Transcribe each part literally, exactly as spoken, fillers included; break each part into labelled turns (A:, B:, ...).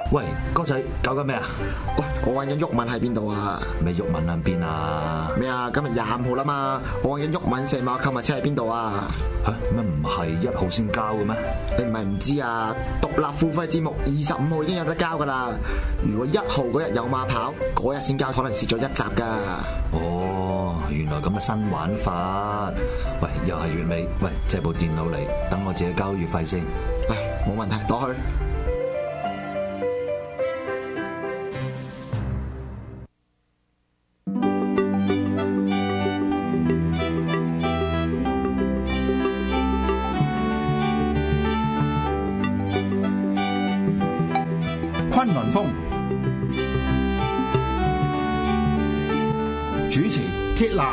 A: 喂，哥仔搞緊咩啊？
B: 喂，我揾緊毓民喺邊度啊？
A: 咩毓民喺邊啊？
B: 咩啊？今日廿五號啦嘛，我揾緊毓民射馬購物車喺邊度啊？
A: 吓，乜唔係一號先交嘅咩？
B: 你唔係唔知啊？獨立付費節目二十五號已經有得交噶啦。如果一號嗰日有馬跑，嗰日先交，可能蝕咗一集噶。
A: 哦，原來咁嘅新玩法。喂，又係月尾，喂，借部電腦嚟，等我自己交月費先。
B: 嚟，冇問題，攞去。
C: 崑崙風主持鐵男，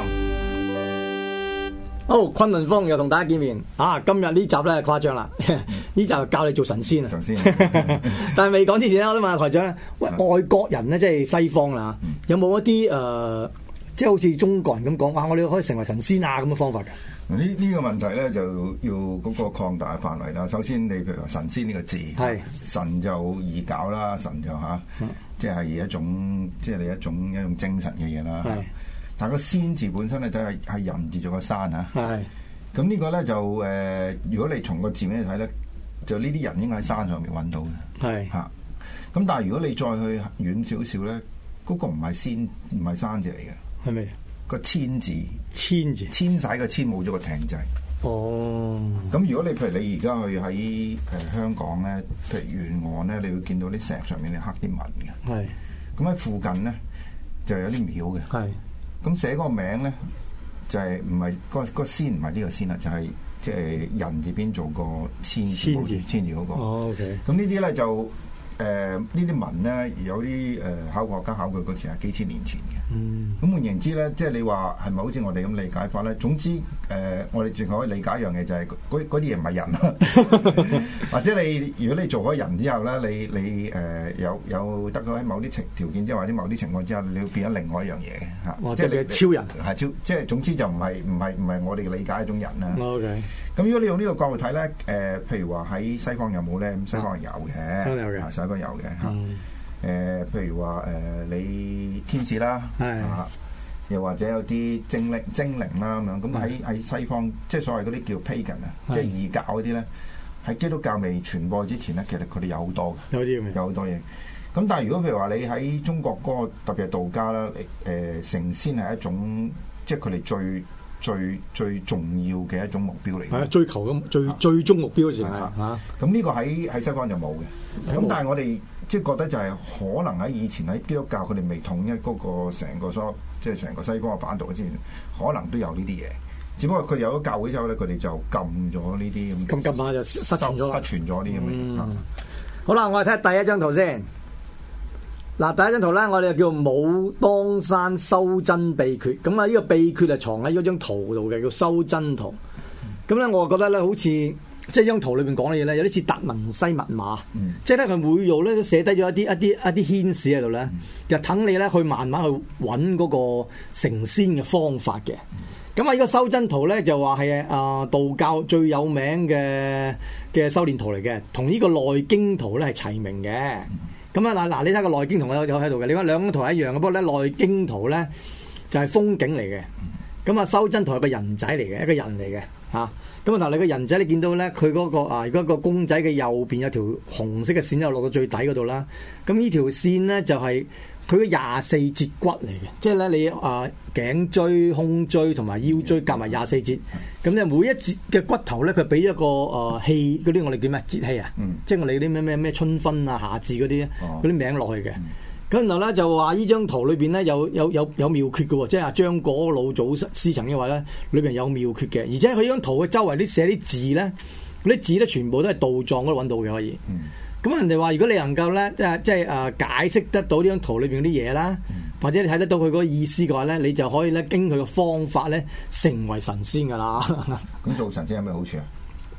D: 好，崑崙風又同大家見面啊！今日呢集咧誇張啦，呢集教你做神仙啊！
C: 神仙，
D: 但係未講之前咧，我都問下台長咧，喂，外國人咧即係西方啦，有冇一啲誒、呃，即係好似中國人咁講，哇！我哋可以成為神仙啊咁嘅方法㗎？
C: 呢呢個問題咧就要嗰個擴大嘅範圍啦。首先，你譬如話神仙呢個字，
D: 係
C: 神就易搞啦，神就嚇，即係一種即係你一種一種精神嘅嘢啦。但係個仙字本身咧就係係人字做個山嚇。係。咁呢個咧就誒、呃，如果你從個字面嚟睇咧，就呢啲人應該喺山上面揾到嘅。係。嚇。咁但係如果你再去遠少少咧，嗰、嗰個唔係仙，唔係山字嚟嘅。係咪？個遷字，遷字，遷徙個遷冇咗個艇仔。哦。咁如果你譬如你而家去喺誒香港咧，譬如沿岸咧，你會見到啲石上面你刻啲文嘅。係。咁喺附近咧就有啲廟嘅。係。咁寫嗰個名咧就係唔係個個仙唔係呢個仙啦，就係即係人字邊做個遷字，遷字遷字嗰個。哦 OK。咁呢啲咧就誒、呃、呢啲文咧有啲誒、呃、考古學家考據過，其實幾千年前嘅。嗯，咁換言之咧，即係你話係咪好似我哋咁理解法咧？總之，誒、呃，我哋淨可以理解一樣嘢，就係嗰嗰啲嘢唔係人啦。或者你如果你做咗人之後咧，你你誒、呃、有有得到喺某啲情條件之下，或者某啲情況之下，你會變咗另外一樣嘢嘅嚇。哦、即係你超人係超，即係總之就唔係唔係唔係我哋嘅理解一種人啦。OK。咁如果你用呢個角度睇咧，誒、呃，譬如話喺西方有冇咧？咁西方係有嘅，西方有嘅，西方有嘅嚇。誒、呃，譬如話誒、呃，你天使啦，啊，又或者有啲精靈精靈啦咁樣，咁喺喺西方，即係所謂嗰啲叫 pagan 啊，即係異教嗰啲咧，喺基督教未傳播之前咧，其實佢哋有好多嘅，有啲有好多嘢。咁但係如果譬如話你喺中國嗰個特別係道家啦，誒、呃，成仙係一種，即係佢哋最最最重要嘅一種目標嚟嘅，係啊，追求咁最、啊、最終目標嘅時候嚇。咁呢、啊、個喺喺西方就冇嘅，咁但係我哋。即係覺得就係可能喺以前喺基督教佢哋未統一嗰個成個所即係成個西方嘅版圖之前，可能都有呢啲嘢。只不過佢哋有咗教會之後咧，佢哋就禁咗呢啲咁。禁禁下就失傳咗，失傳咗啲咁嘅。嗯嗯、好啦，我哋睇下第一張圖先。嗱，第一張圖咧，我哋就叫武當山修真秘訣。咁啊，呢個秘訣係藏喺嗰張圖度嘅，叫修真圖。咁咧，我覺得咧，好似〜即係張圖裏邊講嘅嘢咧，有啲似達文西密碼，嗯、即係咧佢每度咧都寫低咗一啲一啲一啲牽使喺度咧，嗯、就等你咧去慢慢去揾嗰個成仙嘅方法嘅。咁啊、嗯，呢個修真圖咧就話係啊道教最有名嘅嘅修煉圖嚟嘅，同呢個內經圖咧係齊名嘅。咁啊嗱嗱，你睇個內經圖有有喺度嘅，你話兩張圖係一樣嘅，不過咧內經圖咧就係風景嚟嘅，咁啊修真圖係個人仔嚟嘅，一個人嚟嘅嚇。咁啊！嗱，你個人仔你見到咧，佢嗰、那個啊，如果個公仔嘅右邊有條紅色嘅線，又落到最底嗰度啦。咁呢條線咧就係佢嘅廿四節骨嚟嘅，即係咧你啊頸椎、胸椎同埋腰椎夾埋廿四節。咁咧每一節嘅骨頭咧，佢俾一個啊氣嗰啲我哋叫咩節氣啊？嗯、即係我哋啲咩咩咩春分啊、夏至嗰啲嗰啲名落去嘅。咁然後咧就話呢張圖裏邊咧有有有有妙訣嘅喎，即係阿張果老祖師曾經話咧，裏邊有妙訣嘅，而且佢呢張圖嘅周圍啲寫啲字咧，嗰啲字咧全部都係道藏嗰度揾到嘅可以。咁、嗯、人哋話如果你能夠咧即係即係誒解釋得到呢張圖裏邊啲嘢啦，嗯、或者你睇得到佢嗰個意思嘅話咧，你就可以咧經佢嘅方法咧成為神仙噶啦。咁做神仙有咩好處啊？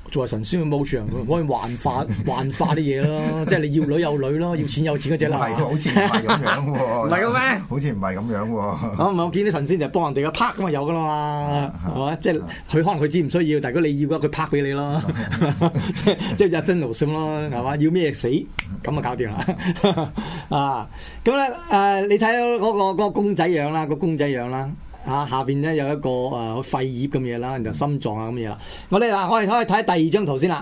D: 做下神仙嘅冇場，可以幻化幻化啲嘢咯，即係你要女有女咯，要錢有錢嗰隻啦。
C: 係，好似唔係咁樣喎。
D: 唔係咁咩？
C: 好似唔係咁樣喎。
D: 啊唔係，我見啲神仙就幫人哋嘅拍咁啊有噶啦嘛，係嘛？即係佢可能佢知唔需要，但係如果你要嘅話，佢拍俾你咯。即係即係就分奴性咯，係嘛？要咩死咁就搞掂啦。啊，咁咧誒，你睇到嗰個嗰個公仔樣啦，個公仔樣啦。嚇下邊咧有一個誒、呃、肺葉咁嘢啦，然後心臟啊咁嘢啦。我哋嗱，我哋可以睇第二張圖先啦。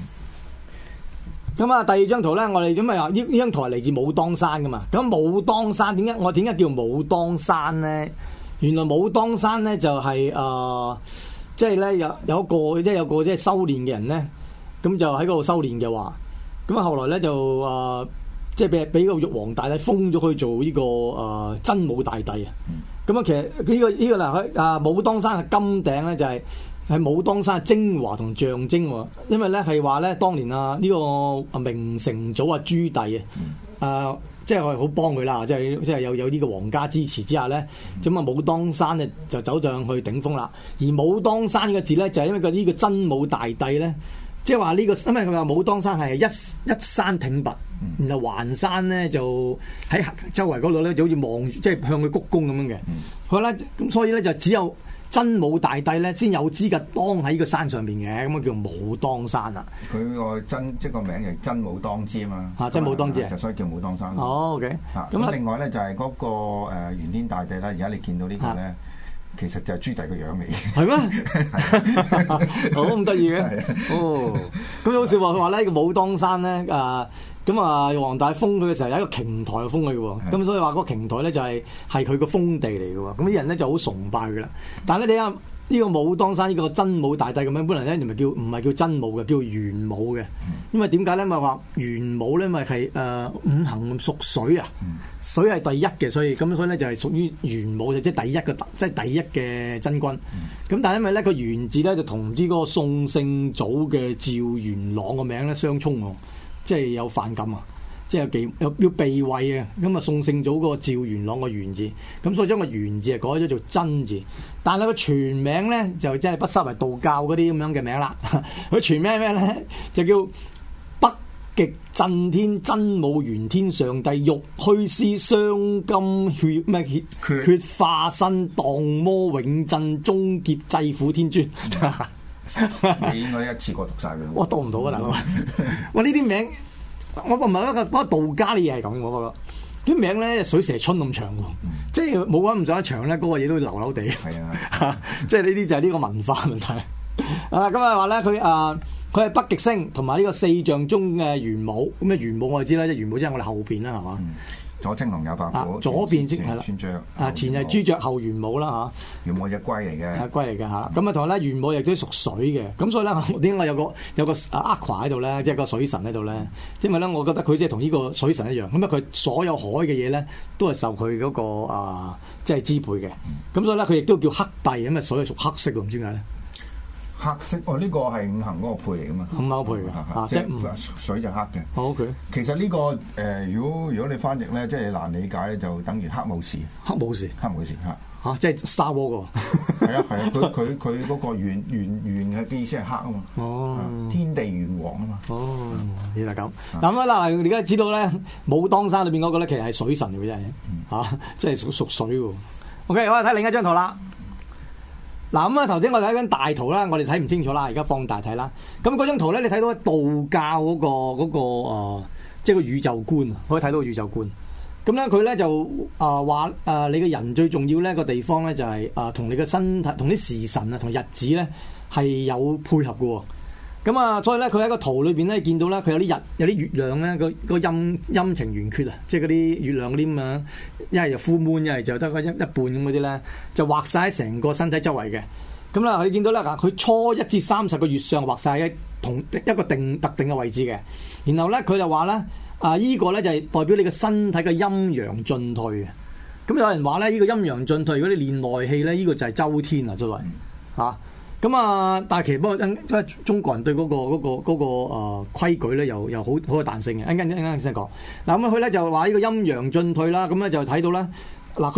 D: 咁啊，第二張圖咧，我哋咁啊呢呢張圖係嚟自武當山噶嘛。咁武當山點解我點解叫武當山咧？原來武當山咧就係、是、誒，即係咧有有一個即係有個即係修練嘅人咧，咁就喺嗰度修練嘅話，咁啊後來咧就誒、呃、即係俾俾個玉皇大帝封咗佢做呢、這個誒、呃、真武大帝啊。咁啊，其實呢、這個呢、這個嗱，佢啊武當山嘅金頂咧就係、是、係武當山嘅精華同象徵喎。因為咧係話咧，當年啊呢、這個啊明成祖啊朱棣啊，啊即係我係好幫佢啦，即係即係有有呢個皇家支持之下咧，咁啊武當山咧就走上去頂峰啦。而武當山嘅字咧就係、是、因為個呢個真武大帝咧。即係話呢個，因為佢話武當山係一一山挺拔，然後環山咧就喺周圍嗰度咧就好似望，即係向佢鞠躬咁樣嘅。佢咧咁，所以咧就只有真武大帝咧先有資格當喺呢個山上邊嘅，咁啊叫武當山啦。佢
C: 個真即係個名係真武當之啊嘛。嚇，
D: 真武當之啊，
C: 就所以叫武當山。
D: 哦 OK。
C: 嚇，咁另外咧就係嗰個誒玄天大帝啦。而家你見到呢個咧。其實就係朱棣個樣嚟嘅，係
D: 咩？好咁得意嘅，哦，咁好笑喎！佢話咧個武當山咧，誒咁啊，黃大封佢嘅時候有一個瓊台封佢嘅喎，咁所以話嗰個瓊台咧就係係佢個封地嚟嘅喎，咁啲人咧就好崇拜佢啦。但係咧你睇下呢個武當山呢個真武大帝咁樣，本來咧唔係叫唔係叫真武嘅，叫玄武嘅。因為點解咧？咪話玄武咧，咪係誒五行屬水啊，水係第一嘅，所以咁所以咧就係屬於玄武，就即係第一個即係第一嘅真君。咁、嗯、但係因為咧個玄字咧就同唔知嗰個宋聖祖嘅趙元朗個名咧相沖喎，即係有反感啊！即係有忌有要避諱啊！咁啊宋聖祖嗰個趙元朗個元字，咁所以將個元字啊改咗做真字。但係個全名咧就真係不失為道教嗰啲咁樣嘅名啦。佢全名咩咧？就叫北極震天真武玄天上帝玉虛師雙金血咩血血化身蕩魔永鎮終劫制苦天尊。
C: 你應該一次過讀晒佢。
D: 我讀唔到啊大佬！哇呢啲名〜我唔係一個嗰個道家嘅嘢係咁，我覺得啲名咧水蛇春咁長喎，嗯、即係冇揾唔上一長咧，嗰、那個嘢都流流地。係啊，即係呢啲就係呢個文化問題。啊，咁啊話咧，佢啊佢係北極星同埋呢個四象中嘅玄武。咁啊玄武我哋知啦，即係玄武即係我哋後邊啦，係嘛？嗯左青龍右白虎， 左邊即係啦，啊前係朱雀後玄武啦嚇，
C: 玄武隻龜嚟嘅，
D: 係龜嚟嘅嚇。咁啊同埋咧玄武亦都屬水嘅，咁所以咧點解有個有個阿夸喺度咧，即係個水神喺度咧？因為咧，我覺得佢即係同呢個水神一樣，咁啊佢所有海嘅嘢咧都係受佢嗰個啊即係支配嘅。咁所以咧佢亦都叫黑帝，咁啊水係屬黑色喎，唔知點解咧？
C: 黑色哦，呢個係五行嗰個配嚟噶嘛？
D: 五行配嘅，即係
C: 水就黑嘅。
D: O K。
C: 其實呢個誒，如果如果你翻譯咧，即係難理解咧，就等於黑武士。
D: 黑武士，
C: 黑武士嚇
D: 嚇，即係 Star Wars 個。係
C: 啊係啊，佢佢佢嗰個圓圓圓嘅意思係黑啊嘛。
D: 哦。
C: 天地元王啊嘛。
D: 哦，原來咁。咁啊嗱，你而家知道咧，武當山裏邊嗰個咧，其實係水神嚟嘅真係嚇，即係屬屬水喎。O K，我哋睇另一張圖啦。嗱咁啊，頭先我睇緊大圖啦，我哋睇唔清楚啦，而家放大睇啦。咁嗰張圖咧，你睇到道教嗰、嗰個嗰、嗰個、呃、即係個宇宙觀啊，可以睇到個宇宙觀。咁咧佢咧就啊話啊，你嘅人最重要咧個地方咧就係啊，同你嘅身體、同啲時辰啊、同日子咧係有配合嘅。咁啊，所以咧佢喺個圖裏邊咧見到咧，佢有啲日有啲月亮咧個個陰陰晴圓缺啊，即係嗰啲月亮嗰啲咁樣，一係就 full moon，一係就得一一半咁嗰啲咧，就畫晒喺成個身體周圍嘅。咁啦，你見到咧，佢初一至三十個月相畫晒喺同一個定特定嘅位置嘅。然後咧，佢就話咧，啊依、這個咧就係代表你個身體嘅陰陽進退嘅。咁有人話咧，呢、這個陰陽進退，如果你練內氣咧，呢、這個就係周天啊，周圍嚇。咁啊，但係其實不過因為中國人對嗰、那個嗰、那個嗰、那個誒、呃、規矩咧，又又好好有彈性嘅。一陣間一陣間先講。嗱咁佢咧就話呢個陰陽進退啦，咁咧就睇到啦。嗱佢話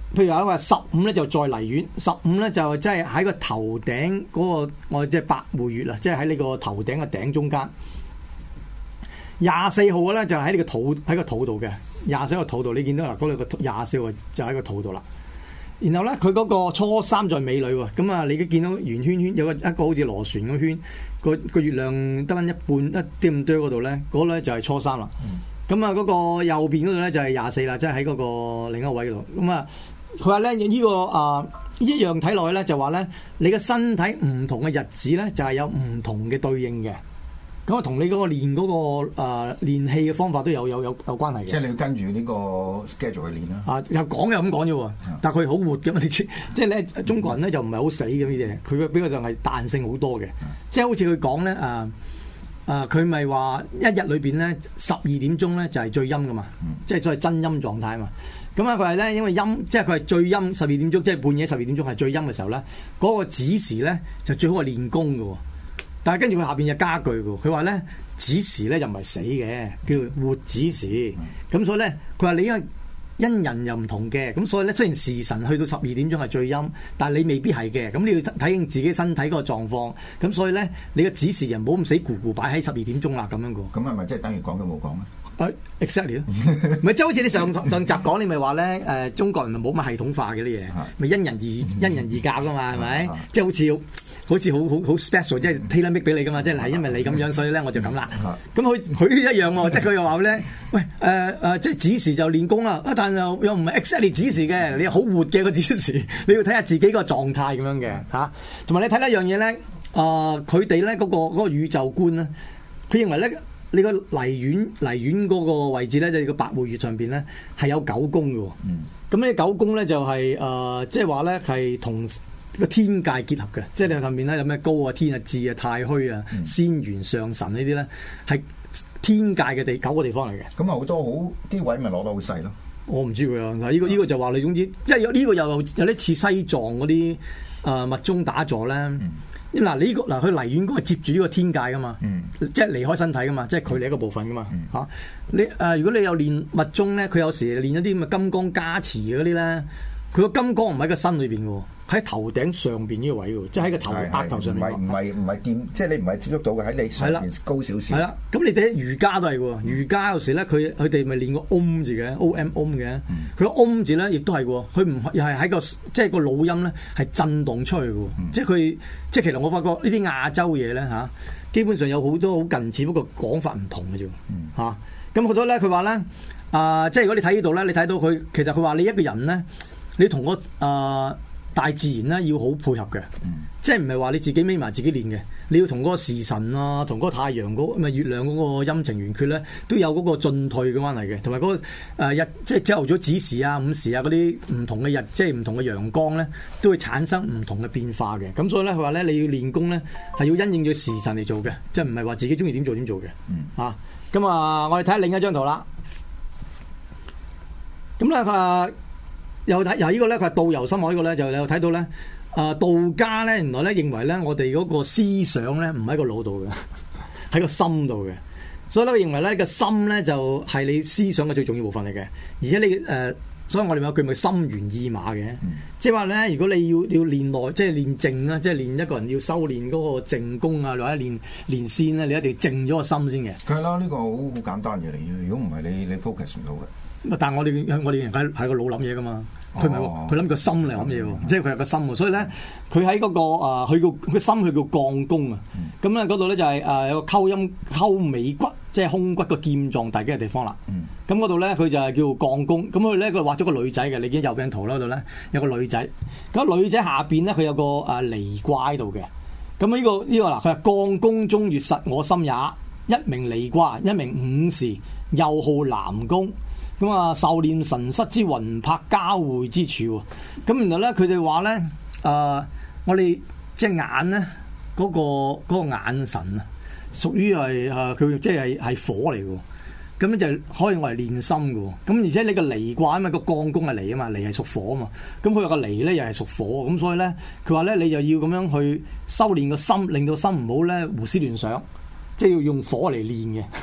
D: 譬如話十五咧就再離遠，十五咧就即係喺個頭頂嗰、那個我即係百會穴啦，即係喺呢個頭頂嘅頂中間。廿四號嘅咧就喺呢個肚喺個肚度嘅，廿四個肚度你見到嗱嗰兩個廿四號就喺個肚度啦。然後咧佢嗰個初三在尾女喎，咁啊你都見到圓圈圈有個一個好似螺旋咁圈，個個月亮得翻一半一啲咁多嗰度咧，嗰、那個咧就係初三啦。咁啊嗰個右邊嗰度咧就係廿四啦，即係喺嗰個另一個位嗰度。咁啊佢話咧呢、這個啊一樣睇落去咧就話咧你嘅身體唔同嘅日子咧就係有唔同嘅對應嘅。咁啊，同你嗰個練嗰、那個誒、呃、練氣嘅方法都有有有有關係嘅。
C: 即係你要跟住呢個 schedule 去練啦。
D: 啊，又講又咁講啫喎，但係佢好活嘅嘛，你知。即係咧，中國人咧就唔係好死嘅呢啲嘢，佢比較上係彈性好多嘅。即係好似佢講咧，啊啊，佢咪話一日裏邊咧十二點鐘咧就係最陰噶嘛，嗯、即係所謂真陰狀態啊嘛。咁啊，佢係咧因為陰，即係佢係最陰十二點鐘，即係半夜十二點鐘係最陰嘅時候咧，嗰、那個子時咧就最好係練功嘅喎。但係跟住佢下邊有加句嘅，佢話咧子時咧又唔係死嘅，叫活子時。咁、嗯、所以咧，佢話你因為因人又唔同嘅，咁所以咧雖然時辰去到十二點鐘係最陰，但係你未必係嘅。咁你要睇清自己身體嗰個狀況。咁所以咧，你個子時人唔好咁死咕咕擺喺十二點鐘啦，咁樣嘅。
C: 咁係咪即係等於講都冇講咧？
D: 誒 exactly 咯，咪即係好似你上上集講，你咪話咧誒，中國人咪冇乜系統化嘅啲嘢，咪因人而因人而教噶嘛，係咪？即係好似好似好好好 special，即係 tailor make 俾你噶嘛，即係係因為你咁樣，所以咧我就咁啦。咁佢佢一樣喎，即係佢又話咧，喂誒誒、呃呃，即係子時就練功啦，啊但又又唔係 exactly 子時嘅，你好活嘅個子時，你要睇下自己個狀態咁樣嘅嚇。同、啊、埋你睇一樣嘢咧，啊佢哋咧嗰個嗰、嗰個宇宙觀咧，佢認為咧。你個離院離院嗰個位置咧，就係個百會穴上邊咧係有九宮嘅。咁呢、嗯、九宮咧就係、是、誒，即係話咧係同個天界結合嘅。即係你上面咧有咩高啊、天啊、智啊、太虛啊、嗯、仙元上神呢啲咧係天界嘅地九個地方嚟嘅。咁啊好多好啲位咪攞得好細咯。我唔知佢啊，嗱、這、呢個呢、這個就話你總之，即係有呢個又有啲似西藏嗰啲誒密宗打坐咧。嗯嗱，你呢個嗱，佢離院宮係接住呢個天界噶嘛，嗯、即係離開身體噶嘛，即係佢哋一個部分噶嘛嚇、嗯啊。你誒、呃，如果你有練密宗咧，佢有時練一啲咁嘅金剛加持嗰啲咧，佢個金剛唔喺個身裏邊嘅喎，喺頭頂上邊呢個位喎，即係喺個頭額頭上面。唔係唔係唔係掂，即係你唔係接觸到嘅，喺你上邊高少少。係啦，咁你睇瑜伽都係喎，瑜伽有時咧，佢佢哋咪練個 Om 字嘅 ，O M Om 嘅，佢個 Om 字咧亦都係喎，佢唔又係喺個即係個腦音咧係震動出去嘅喎，嗯、即係佢即係其實我發覺呢啲亞洲嘢咧嚇，基本上有好多好近似，不過講法唔同嘅啫嚇。咁好多咧，佢話咧啊，即係如果你睇呢度咧，你睇到佢其實佢話你一個人咧，你同個啊。呃大自然咧要好配合嘅，嗯、即係唔係話你自己孭埋自己練嘅，你要同嗰個時辰啊，同嗰個太陽嗰咪月亮嗰個陰晴圓缺咧，都有嗰個進退嘅關係嘅，同埋嗰個誒、呃、日即係朝頭早子時啊、午時啊嗰啲唔同嘅日，即係唔同嘅陽光咧，都會產生唔同嘅變化嘅。咁所以咧，佢話咧你要練功咧係要因應咗時辰嚟做嘅，即係唔係話自己中意點做點做嘅。嗯、啊，咁啊，我哋睇下另一張圖啦。咁咧佢。又睇由呢個咧，佢係道遊深海呢個咧，就有睇到咧。啊、呃，道家咧，原來咧認為咧，我哋嗰個思想咧唔喺個腦度嘅，喺個心度嘅。所以咧，佢認為咧個心咧就係你思想嘅最重要部分嚟嘅。而且你誒、呃，所以我哋有句咪心猿意馬嘅，嗯、即係話咧，如果你要要練內，即係練靜啦，即係練一個人要修練嗰個靜功啊，或者練練仙咧，你一定要靜咗個心先嘅。係啦，呢、呢個好好簡單嘅嚟嘅。如果唔係你你 focus 唔到嘅。但係我哋我哋人係係個腦諗嘢噶嘛，佢唔係喎，佢諗個心嚟諗嘢喎，即係佢係個心喎，所以咧佢喺嗰個啊，佢個佢心佢叫降宮啊，咁咧嗰度咧就係誒有個溝陰溝尾骨，即係胸骨個劍狀大嘅地方啦。咁嗰度咧佢就係叫降宮，咁佢咧佢畫咗個女仔嘅，你見右邊圖啦嗰度咧有個女仔，咁女仔下邊咧佢有個誒離卦喺度嘅，咁呢個呢個嗱佢係降宮中月實我心也，一名離卦，一名午時，又號南宮。咁啊，受念神室之魂魄交匯之處喎。咁然後咧，佢哋話咧，誒、呃，我哋隻眼咧，嗰、那個嗰、那個眼神啊，屬於係誒佢即係係火嚟嘅。咁咧就可以我嚟練心嘅。咁而且你個離卦啊嘛，個降宮係離啊嘛，離係屬火啊嘛。咁佢有個離咧又係屬火，咁所以咧，佢話咧你就要咁樣去修練個心，令到心唔好咧胡思亂想，即係要用火嚟練嘅。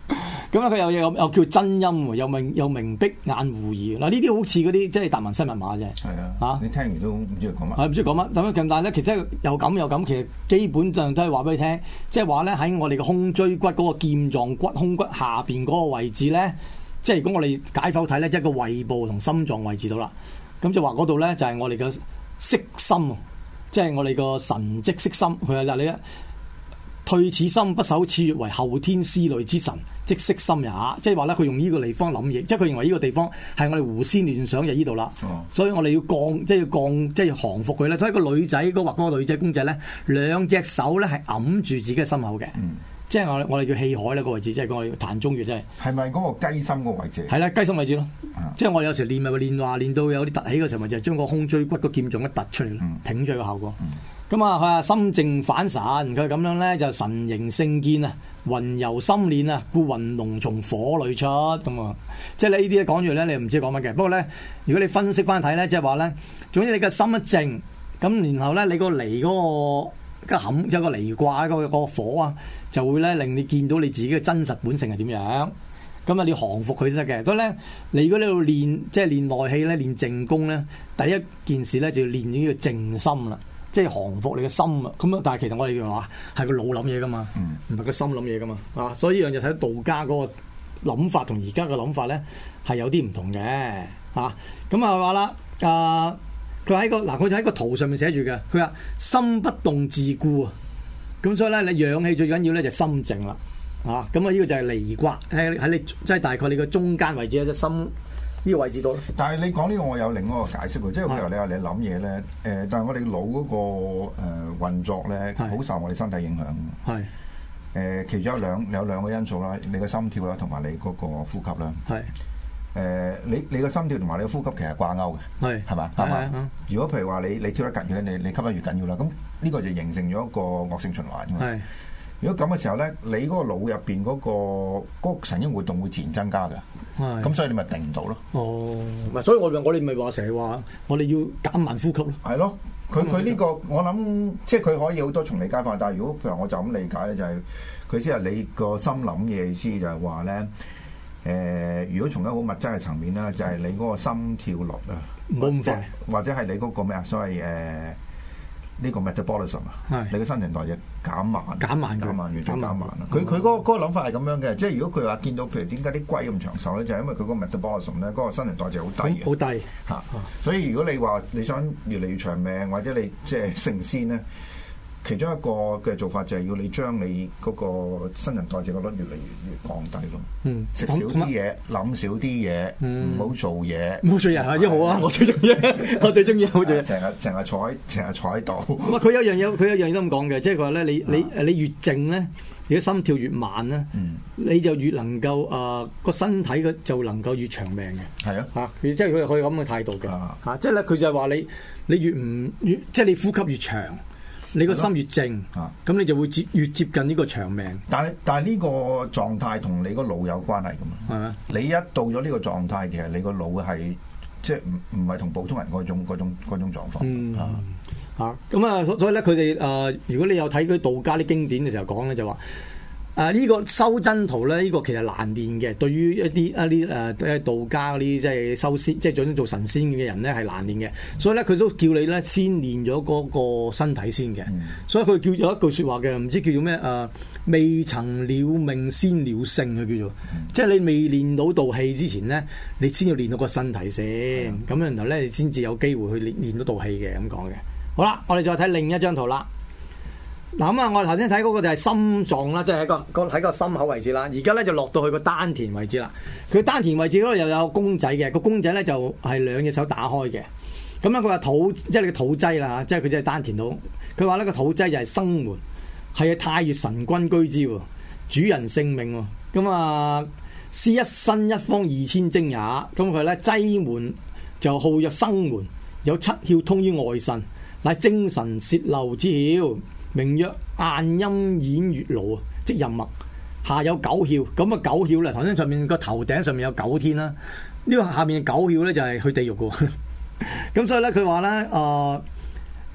D: 咁咧佢又又又叫真音，又明又明碧眼狐兒。嗱呢啲好似嗰啲即係達文西密碼啫。係
C: 啊，
D: 嚇
C: 你聽完都唔知佢講乜。
D: 係唔知講乜咁樣咁，但係咧其實又咁又咁，其實基本上都係話俾你聽，即係話咧喺我哋嘅胸椎骨嗰個劍狀骨胸骨下邊嗰個位置咧，即係如果我哋解剖睇咧，即係個胃部同心臟位置到啦。咁就話嗰度咧就係我哋嘅色心，即係我哋個神蹟色心。佢話嗱你退此心不守此穴為後天思慮之神，即色心也。即係話咧，佢用呢個地方諗嘢，即係佢認為呢個地方係我哋胡思亂想就呢度啦。哦、所以我哋要降，即係要降，即係要降服佢咧。所以個女仔嗰畫嗰個女仔公仔咧，兩隻手咧係揞住自己嘅心口嘅。嗯、即係我我哋叫氣海咧個位置，即係我哋膻中穴，即係。係
C: 咪嗰個雞心嗰個位置？
D: 係啦，雞心位置咯。啊、即係我哋有時練咪練話練到有啲凸起嘅時候，咪就係將個胸椎骨個劍狀一突出嚟咯，嗯、挺咗個效果。嗯咁啊，佢話心靜反神，佢咁樣咧就神形勝見啊，雲遊心練啊，故雲龍從火裏出咁啊，即係呢啲咧講住咧，你唔知講乜嘅。不過咧，如果你分析翻睇咧，即係話咧，總之你個心一靜，咁然後咧你個離嗰個個坎有個離卦嗰個火啊，就會咧令你見到你自己嘅真實本性係點樣。咁啊，你降服佢先得嘅。所以咧，你如果你要練即係練內氣咧，練靜功咧，第一件事咧就要練呢個靜心啦。即係降服你嘅心啊！咁啊，但係其實我哋話係個腦諗嘢噶嘛，唔係個心諗嘢噶嘛啊！所以呢樣就睇到道家嗰個諗法同而家嘅諗法咧係有啲唔同嘅啊！咁啊話啦啊，佢喺個嗱，佢喺個圖上面寫住嘅，佢話心不動自固啊！咁所以咧，你氧氣最緊要咧就心靜啦啊！咁啊，呢個就係離卦喺喺你即係大概你個中間位置咧，即係心。呢個位置度，
C: 但係你講呢個我有另一個解釋喎，即係譬如你話你諗嘢咧，誒、呃，但係我哋腦嗰個誒、呃、運作咧，好受我哋身體影響。係誒是、呃，其中有兩有兩個因素啦，你個心跳啦，同埋你嗰個呼吸啦。係誒是、呃，你你個心跳同埋你個呼吸其實掛鈎嘅。係係嘛？係嘛？如果譬如話你你跳得緊要咧，你你吸得越緊要啦，咁呢個就形成咗一個惡性循環㗎嘛。係。如果咁嘅時候咧，你嗰個腦入邊嗰個嗰個神經活動會自然增加嘅，咁是所以你咪定唔到咯。哦，唔係，所以我我哋咪話成日話，我哋要減慢呼吸咯。係咯，佢佢呢個我諗，即係佢可以好多從理解法，但係如果譬如我就咁理解咧，就係佢先係你個心諗嘅意思，就係話咧，誒、呃，如果從一個好物質嘅層面咧，就係、是、你嗰個心跳率啊，冇咁快，或者係你嗰個咩啊，所謂誒。呃呢個 metabolism 啊，你嘅新陳代謝減慢，減慢，減慢，越嚟減慢啦。佢佢嗰個嗰個諗法係咁樣嘅，即係如果佢話見到譬如點解啲龜咁長壽咧，就係因為佢嗰個 metabolism 咧，嗰個新陳代謝好低，好低嚇。所以如果你話你想越嚟越長命，或者你即係成仙咧，其中一個嘅做法就係要你將你嗰個新陳代謝嘅率越嚟越越降低咯。嗯，食少啲嘢，諗少啲嘢，唔好做嘢。唔好做嘢係一好啊！我最中意，我最中意好做嘢。成日成日坐喺成日坐喺度。哇！佢有樣嘢，佢有樣嘢都咁講嘅，即係佢話咧，你你誒你越靜咧，你嘅心跳越慢咧，你就越能夠誒個身體嘅就能夠越長命嘅。係啊，嚇！即係佢佢咁嘅態度嘅嚇，即係咧佢就係話你你越唔越即係你呼吸越長。你個心越靜，咁、啊、你就會接越接近呢個長命。但係但係呢個狀態同你個腦有關係噶嘛？係啊，你一到咗呢個狀態，其實你個腦係即係唔唔係同普通人嗰種嗰種嗰種狀況。嗯啊，咁啊，所以咧佢哋誒，如果你有睇佢道家啲經典嘅時候講咧，就話。誒呢、啊這個修真圖咧，呢、這個其實難練嘅。對於一啲一啲誒誒道家嗰啲即係修仙，即係想做神仙嘅人咧，係難練嘅。所以咧，佢都叫你咧先練咗嗰個身體先嘅。嗯、所以佢叫有一句説話嘅，唔知叫做咩誒、呃？未曾了命先了性嘅叫做，嗯、即係你未練到道氣之前咧，你先要練到個身體先。咁、嗯、然後咧，你先至有機會去練練到道氣嘅咁講嘅。好啦，我哋再睇另一張圖啦。嗱咁啊，我哋頭先睇嗰個就係心臟啦，即係喺個個喺個心口位置啦。而家咧就落到去個丹田位置啦。佢丹田位置嗰度又有公仔嘅，個公仔咧就係兩隻手打開嘅。咁樣佢話土，即係你個土劑啦，即係佢即係丹田度。佢話呢個土劑就係生門，係太乙神君居之，主人性命。咁啊，是一身一方二千精也。咁佢咧劑門就號曰生門，有七竅通於外腎，乃精神泄漏之竅。名曰晏陰演月爐啊，即任脈，下有九竅。咁啊九竅咧，頭先上面個頭頂上面有九天啦，呢個下面嘅九竅咧就係去地獄嘅。咁所以咧佢話咧，誒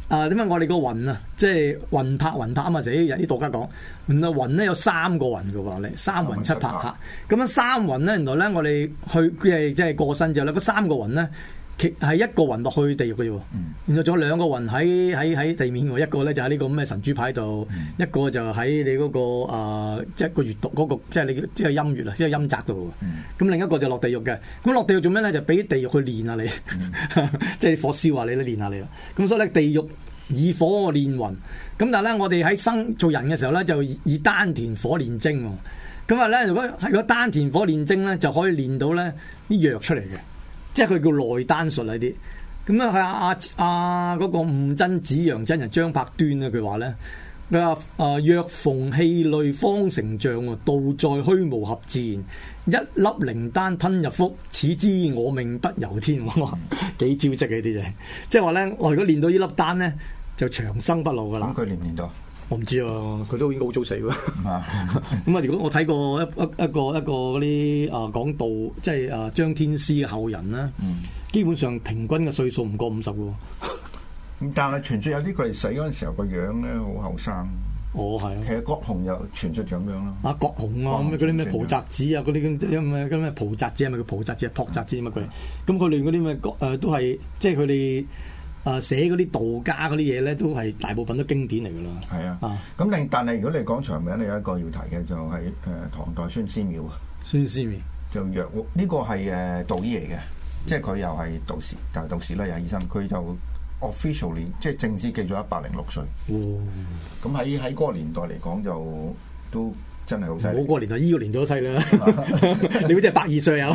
D: 啊點解我哋個雲啊，即係雲拍雲拍啊嘛，就有啲道家講，原來雲咧有三個雲嘅喎，你三雲七拍嚇。咁樣三雲咧，原來咧我哋去佢係即係過身之後咧，嗰三個雲咧。其係一個雲落去地獄嘅啫，然後仲有兩個雲喺喺喺地面喎，一個咧就喺呢個咁嘅神主牌度，嗯、一個就喺你嗰、那個啊，即、呃、係、就是、個月度嗰、那個，即係你即係陰月啊，即係陰宅度。咁、嗯、另一個就落地獄嘅，咁落地獄做咩咧？就俾地獄去練下你，即係、嗯、火燒下你都練下你啦。咁所以咧，地獄以火練雲，咁但係咧，我哋喺生做人嘅時候咧，就以丹田火練精。咁啊咧，如果係個丹田火練精咧，就可以練到咧啲藥出嚟嘅。即係佢叫內丹術呢啲，咁啊係阿阿嗰個悟真子陽真人張伯端啊，佢話咧，佢話啊若逢氣類方成像啊，道在虛無合自然，一粒靈丹吞入腹，此之我命不由天。哇，幾招積嘅呢啲就係，即係話咧，我如果練到呢粒丹咧，就長生不老噶啦。
C: 咁佢練唔練到？
D: 我唔知啊，佢都已經好早死喎。咁啊，如果我睇過一一一個一個嗰啲啊講道，即係啊張天師嘅後人啦，嗯、基本上平均嘅歲數唔過五十喎。
C: 咁但係傳説有啲佢哋死嗰陣時候個樣咧好後生。
D: 哦，係啊。其
C: 實郭洪又傳説咁樣咯。
D: 啊，郭洪啊，咁嗰啲咩蒲澤子啊，嗰啲咁咩咁咩蒲澤子係咪叫蒲澤子啊？朴澤子乜鬼？咁佢哋嗰啲咩誒都係即係佢哋。啊！寫嗰啲道家嗰啲嘢咧，都係大部分都經典嚟㗎啦。係啊，咁
C: 另但係如果你講長名，你有一個要提嘅就係、是、誒、呃、唐代孫思邈啊。
D: 孫思邈
C: 就藥屋呢個係誒道醫嚟嘅，即係佢又係道士，但係道士啦又係醫生，佢就 officially 即係正式記咗一百零六歲。咁喺喺嗰個年代嚟講就都。真係好犀利！
D: 我個年代，依、這個年代都細啦。你好似係百二歲有。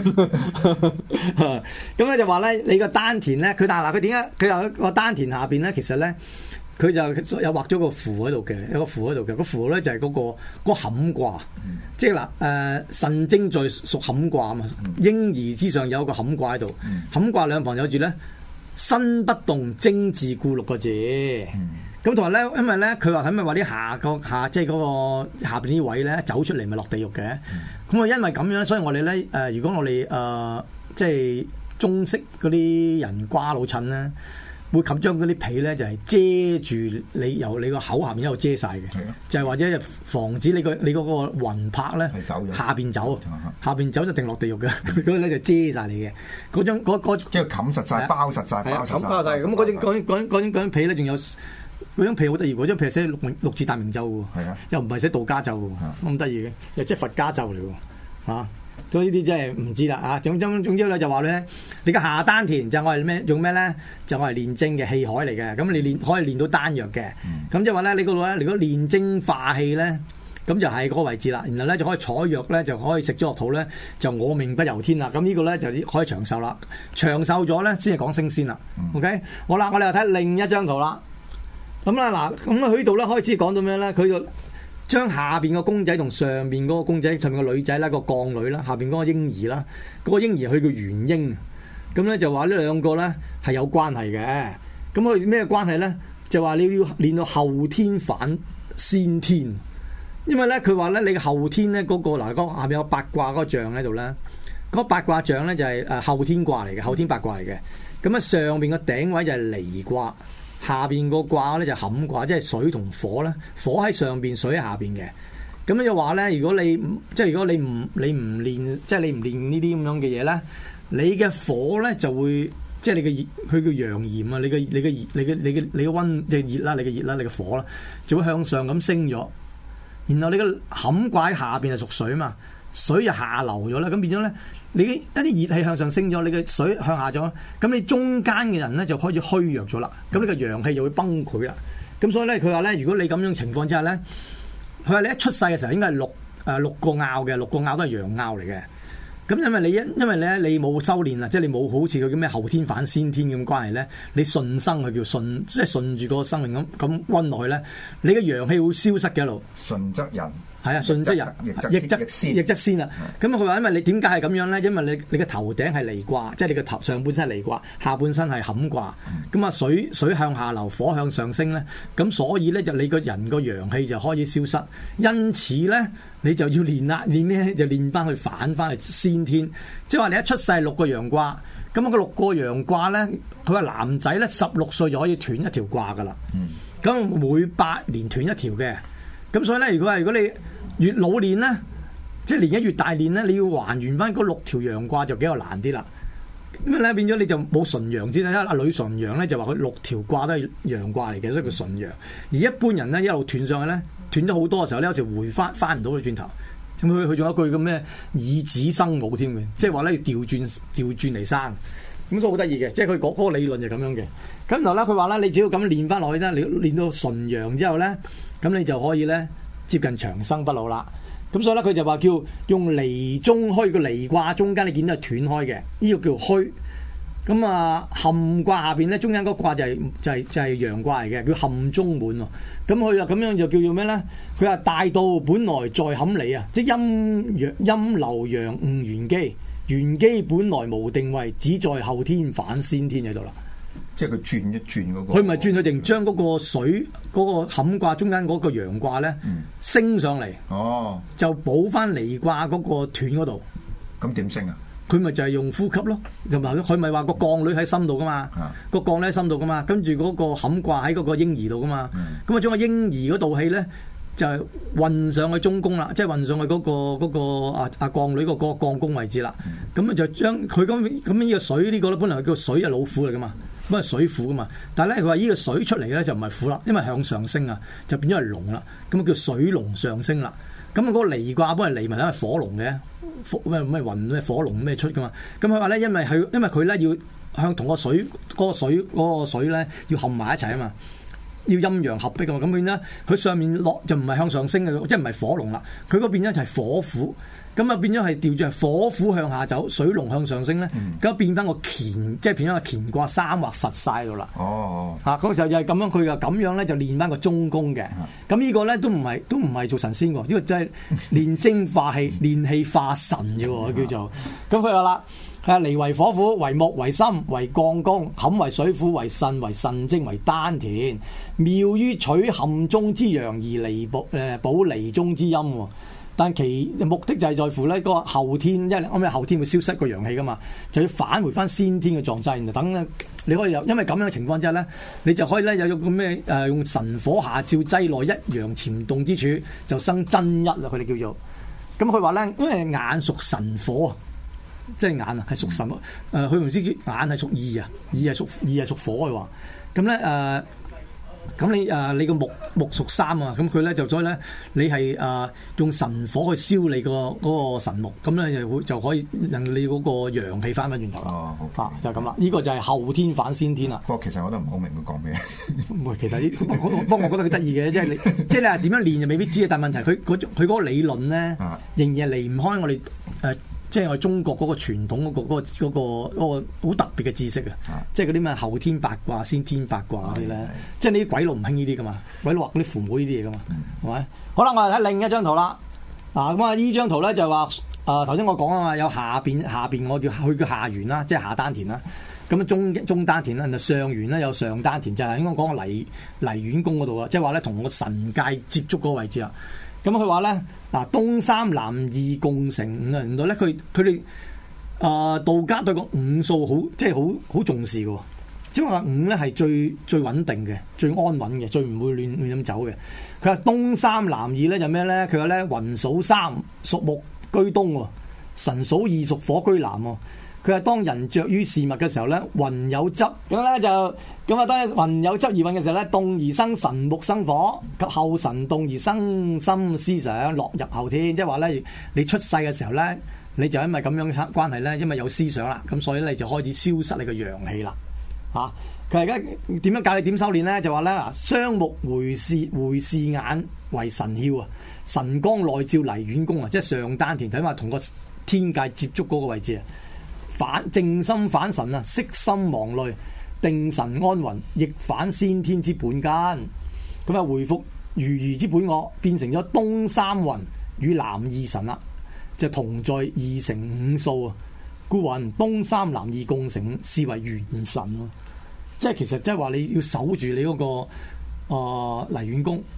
D: 咁咧就話咧，你個丹田咧，佢但係嗱，佢點解佢有個丹田下邊咧？其實咧，佢就有畫咗個符喺度嘅，有個符喺度嘅。個符咧就係嗰、那個嗰、那個坎卦，嗯、即係嗱誒，腎精在屬坎卦啊嘛。嬰兒之上有個坎卦喺度，坎卦兩旁有住咧，身不動，精自固六個字。嗯咁同埋咧，因為咧，佢話係咪話啲下個下即係嗰個下邊啲位咧走出嚟咪落地獄嘅？咁啊、嗯，因為咁樣，所以我哋咧誒，如果我哋誒、呃、即係中式嗰啲人瓜老襯咧，會冚將嗰啲被咧就係、是、遮住你由你個口下面一路遮晒嘅，的就係或者防止你個你嗰個魂魄咧下邊走，下邊走就定落地獄嘅，嗰個咧就遮晒你嘅嗰張嗰嗰
C: 即係冚實晒、包實晒、包實
D: 包曬。咁嗰張嗰嗰嗰張嗰張被咧仲有。嗰張被好得意，嗰張被寫六六字大明咒喎，啊、又唔係寫道家咒喎，咁得意嘅，又即係佛家咒嚟喎，嚇、啊，所以呢啲真係唔知啦，啊，總總總之咧就話咧，你嘅下丹田就我係咩用咩咧？就我係練精嘅氣海嚟嘅，咁你練可以練到丹藥嘅，咁即係話咧，你嗰度咧，如果練精化氣咧，咁就係嗰個位置啦，然後咧就可以採藥咧，就可以食咗落肚咧，就我命不由天啦，咁呢個咧就可以長壽啦，長壽咗咧先係講升仙啦、嗯、，OK， 好啦，我哋又睇另一張圖啦。咁啦，嗱，咁啊，佢呢度咧開始講到咩咧？佢就將下邊個公仔同上邊嗰個公仔，上面個女仔啦，個鋼女啦，下邊嗰個嬰兒啦，嗰、嗰個嬰兒佢叫元嬰，咁咧就話呢兩個咧係有關係嘅。咁佢咩關係咧？就話你要練到後天反先天，因為咧佢話咧你嘅後天咧嗰、嗰個嗱，嗰下邊有八卦嗰個象喺度咧，嗰、嗰個、八卦象咧就係誒後天卦嚟嘅，後天八卦嚟嘅。咁啊上邊個頂位就係離卦。下邊個卦咧就坎卦，即係水同火咧，火喺上邊，水喺下邊嘅。咁樣就話咧，如果你即係如果你唔你唔練，即係你唔練呢啲咁樣嘅嘢咧，你嘅火咧就會即係你嘅熱，佢叫陽炎啊，你嘅你嘅熱，你嘅你嘅你嘅溫即係熱啦，你嘅熱啦，你嘅火啦，就會向上咁升咗。然後你嘅坎卦喺下邊係屬水嘛，水就下流咗啦，咁變咗咧。你一啲熱氣向上升咗，你嘅水向下咗，咁你中間嘅人咧就開始虛弱咗啦，咁呢個陽氣就會崩潰啦。咁所以咧，佢話咧，如果你咁樣情況之下咧，佢話你一出世嘅時候應該係六誒、呃、六個爻嘅，六個爻都係陽爻嚟嘅。咁因為你因因為咧你冇修練啊，即係你冇好似佢叫咩後天反先天咁關係咧，你順生佢叫順，即係順住個生命咁咁溫落去咧，你嘅陽氣會消失嘅一路。
C: 順則人。係
D: 啊，順則人，逆則逆則先啊！咁佢話因為你點解係咁樣咧？因為你你嘅頭頂係離卦，即係你嘅頭上半身係離卦，下半身係坎卦。咁啊、嗯、水水向下流，火向上升咧，咁所以咧就你個人個陽氣就開始消失。因此咧，你就要練啦，練咩就練翻去反翻去先天。即係話你一出世六個陽卦， 咁啊個六個陽卦咧，佢話男仔咧十六歲就可以斷一條卦噶啦。咁、嗯、每八年斷一條嘅。咁所以咧，如果係如果你越老練咧，即係年紀越大練咧，你要還原翻嗰六條陽卦就比較難啲啦。咁咧變咗你就冇純陽之啦。阿呂純陽咧就話佢六條卦都係陽卦嚟嘅，所以佢純陽。而一般人咧一路斷上去咧，斷咗好多嘅時候咧，有時回翻翻唔到佢轉頭。咁佢佢仲有一句咁咩以子生母添嘅，即係話咧要調轉調轉嚟生。咁所以好得意嘅，即係佢嗰嗰個理論就咁樣嘅。咁然後咧佢話咧，你只要咁練翻落去咧，你練到純陽之後咧，咁你就可以咧接近長生不老啦。咁所以咧佢就話叫用離中虛，個離卦中間你見到係斷開嘅，呢、這個叫虛。咁啊坎卦下邊咧中間嗰卦就係、是、就係、是、就係、是、陽卦嚟嘅，叫坎中滿喎。咁佢啊咁樣就叫做咩咧？佢話大道本來在坎離啊，即係陰陽陰流陽誤原機，原機本來無定位，只在後天反先天喺度啦。
C: 即係佢轉一轉嗰個，
D: 佢咪轉佢定將嗰個水嗰、嗰個坎卦中間嗰個陽卦咧、嗯、升上嚟，哦，就補翻離卦嗰個斷嗰度。
C: 咁點升啊？佢
D: 咪就係用呼吸咯，同埋佢咪話個降女喺心度噶嘛，啊、個降女喺心度噶嘛，跟住嗰個坎卦喺嗰個嬰兒度噶嘛，咁啊將個嬰兒嗰道氣咧就係運上去中宮啦，即係運上去嗰、嗰個、嗰個啊啊降女個個降宮位置啦，咁啊、嗯、就將佢咁咁呢個水呢、呢個咧本來叫水係老虎嚟噶嘛。咁係水虎噶嘛，但係咧佢話呢個水出嚟咧就唔係虎啦，因為向上升啊，就變咗係龍啦，咁啊叫水龍上升啦。咁嗰個離卦本來離咪因為火龍嘅，咩咩雲咩火龍咩出噶嘛。咁佢話咧，因為係因為佢咧要向同個水嗰、嗰個水嗰、嗰個水咧要合埋一齊啊嘛，要陰陽合璧噶嘛。咁變咧佢上面落就唔係向上升嘅，即係唔係火龍啦，佢嗰邊咧就係火虎。咁啊變咗係調轉火虎向下走，水龍向上升咧，咁、嗯、變翻個乾，即係變翻個乾卦三畫實晒到啦。哦，嚇咁就就係咁樣，佢就咁樣咧就練翻個中宮嘅。咁、嗯、呢個咧都唔係都唔係做神仙喎，呢、呢個真係練精化氣、練氣化神嘅喎，叫做。咁佢話啦，係離為火虎，為木，為心，為降宮，坎為水虎，為腎，為腎精，為丹田。妙於取坎中之陽而離補誒補離中之陰喎。但其目的就係在乎咧個後天，因為啱啱後天會消失個陽氣噶嘛，就要返回翻先天嘅狀態，然後等咧你可以有，因為咁樣嘅情況之下咧，你就可以咧有個咩誒用神火下照劑內一陽潛動之處，就生真一啦。佢哋叫做咁，佢話咧，因為眼屬神火啊，即係眼啊係屬神，誒佢唔知叫眼係屬意啊，意係屬意係屬火嘅話，咁咧誒。呃咁你誒、呃、你個木木屬三啊，咁佢咧就所以咧你係誒、呃、用神火去燒你個嗰個神木，咁咧就會就可以令你嗰個陽氣翻返轉頭啦。哦，好啊，就咁啦。呢、呢個就係後天反先天啦。不過其實我都唔好明佢講咩。唔係，其實呢，不過我覺得佢得意嘅，即係你即係你話點樣練就未必知啊。但係問題佢佢佢嗰個理論咧，仍然係離唔開我哋誒。呃即係我哋中國嗰個傳統嗰、嗰個嗰、嗰個嗰、嗰個好特別嘅知識啊！即係嗰啲咩後天八卦、先天八卦嗰啲咧，即係呢啲鬼佬唔興呢啲噶嘛，鬼佬畫嗰啲父母呢啲嘢噶嘛，係咪、嗯？好啦，我哋睇另一張圖啦。嗱咁啊，呢張圖咧就話誒頭先我講啊嘛，有下邊下邊我叫佢叫下元啦，即係下丹田啦。咁中中丹田啦，就上元咧有上丹田，就係應該講個離離元宮嗰度啊，即係話咧同個神界接觸嗰個位置啊。咁佢話咧，嗱東三南二共成五啊，原來咧佢佢哋啊道家對個五數好即係好好重視嘅，即係話五咧係最最穩定嘅、最安穩嘅、最唔會亂亂咁走嘅。佢話東三南二咧就咩咧？佢話咧雲數三屬木居東，神數二屬火居南。佢話當人着於事物嘅時候咧，雲有執咁咧就咁啊。當雲有執而運嘅時候咧，動而生神木生火，及後神動而生心思想，落入後天。即係話咧，你出世嘅時候咧，你就因為咁樣嘅關係咧，因為有思想啦，咁所以咧你就開始消失你個陽氣啦。嚇、啊！佢而家點樣教你點修練咧？就話咧嗱，雙目回視回視眼為神竅啊，神光內照離遠宮啊，即係上丹田睇下同個天界接觸嗰個位置啊。反靜心反神啊，息心忘慮，定神安魂，亦反先天之本根。咁啊，回復如如之本我，變成咗東三雲與南二神啦，就同在二乘五數啊。故云東三南二共成五，是為元神咯。即係其實即係話你要守住你嗰、那個誒離遠宮，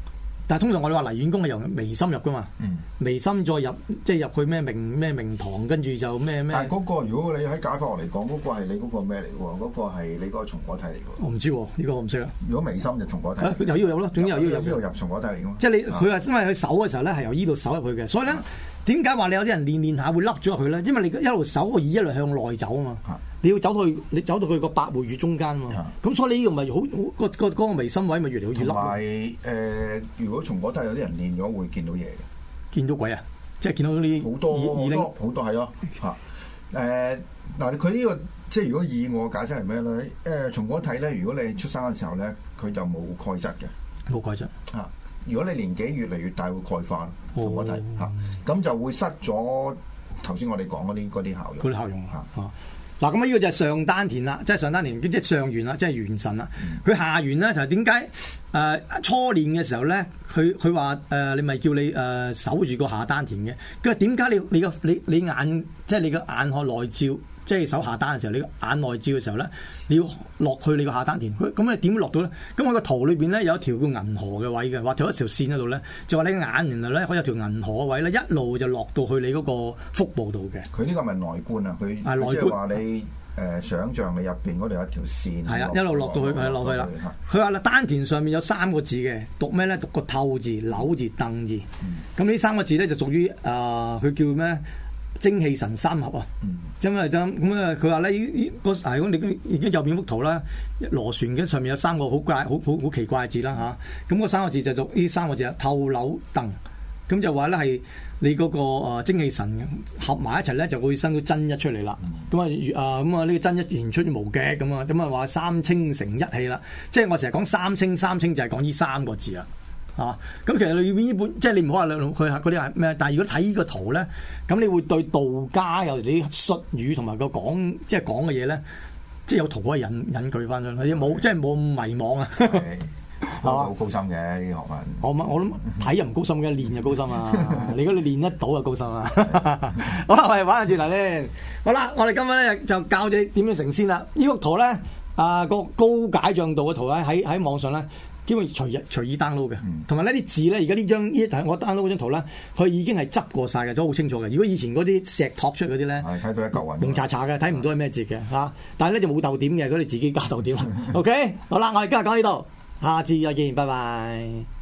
D: 但係通常我哋話泥丸宮係由眉心入噶嘛，
C: 嗯、
D: 眉心再入即係入去咩明咩明堂，跟住就咩咩。
C: 但係嗰個如果你喺解剖學嚟講，嗰、嗰個係你嗰個咩嚟喎？嗰、嗰個係你嗰個松果體嚟㗎。
D: 我唔知喎，呢、呢個我唔識啦。
C: 如果眉心就松果體，
D: 佢由呢度有咯，總之由呢度入。
C: 呢度入松果體嚟㗎嘛。
D: 即係你佢話因為佢手嘅時候咧係由呢度手入去嘅，所以咧點解話你有啲人練練下會凹咗入去咧？因為你一路手個耳一路向內走啊嘛。你要走到去，你走到去個百會穴中間喎，咁所以你呢個咪好好個個嗰個眉心位咪越嚟越凹。同埋誒，如果松果體有啲人練咗會見到嘢嘅，見到鬼啊！即係見到啲
C: 好多好多好多係咯嚇誒嗱，佢呢個即係如果以我解釋係咩咧？誒松果體咧，如果你出生嘅時候咧，佢就冇鈣質嘅，冇鈣質嚇。如果你年紀越嚟越大，會鈣化松果體嚇，咁就會失咗頭先我哋講嗰啲嗰啲效用。嗰啲效用嚇。嗱，咁啊，呢個就係上丹田啦，即係上丹田，即係上元啦，即係元神啦。佢、嗯、下元咧，就係點解誒初練嘅時候咧，佢佢話誒你咪叫你誒、呃、守住個下丹田嘅。佢話點解你你個你你眼即係你個眼看內照，即係手下丹嘅時候，你個眼內照嘅時候咧，你要落去你個下丹田。咁你點落到咧？咁我個圖裏邊咧有一條叫銀河嘅位嘅，畫咗一條線喺度咧，就話你眼原來咧可以有條銀河嘅位咧，一路就落到去你嗰個腹部度嘅。佢呢個咪內觀啊？佢即係話你誒、呃、想像你入邊嗰度有一條線。係啊，一路落到去，係落去啦。佢話啦，丹田上面有三個字嘅，讀咩咧？讀個透字、扭字、蹬字。咁呢、嗯、三個字咧就屬於誒，佢、呃、叫咩？精氣神三合啊，因為咁咁啊，佢話咧呢個係咁，你已經右邊幅圖啦，螺旋嘅上面有三個好怪、好好好奇怪嘅字啦嚇。咁、啊、嗰三個字就讀呢三個字啊，透扭蹬。咁就話咧係你嗰個誒精氣神合埋一齊咧，就會生到真一出嚟啦。咁啊啊咁啊呢個真一言出無極咁啊，咁啊話三清成一氣啦。即係我成日講三清，三清就係講呢三個字啊。啊，咁其實裏邊呢本即係你唔好話佢嗰啲係咩，但係如果睇呢個圖咧，咁你會對道家有啲術語同埋個講即係講嘅嘢咧，即係有圖可以引引佢翻上去，冇即係冇咁迷惘啊。係好高深嘅呢啲學問。我我諗睇又唔高深嘅，練就高深啊。你如果你練得到就高深啊。好啦，我哋玩下轉頭先。好啦，我哋今日咧就教你點樣成仙啦。呢幅圖咧啊，個高解像度嘅圖咧喺喺網上咧。基本隨意隨意 download 嘅，同埋呢啲字咧，而家呢張呢我 download 嗰張圖咧，佢已經係執過晒嘅，都好清楚嘅。如果以前嗰啲石拓出嗰啲咧，睇到一嚿雲，蒙查查嘅，睇唔到係咩字嘅嚇。但係咧就冇逗點嘅，所以你自己加逗點。OK，好啦，我哋今日講呢度，下次再見，拜拜。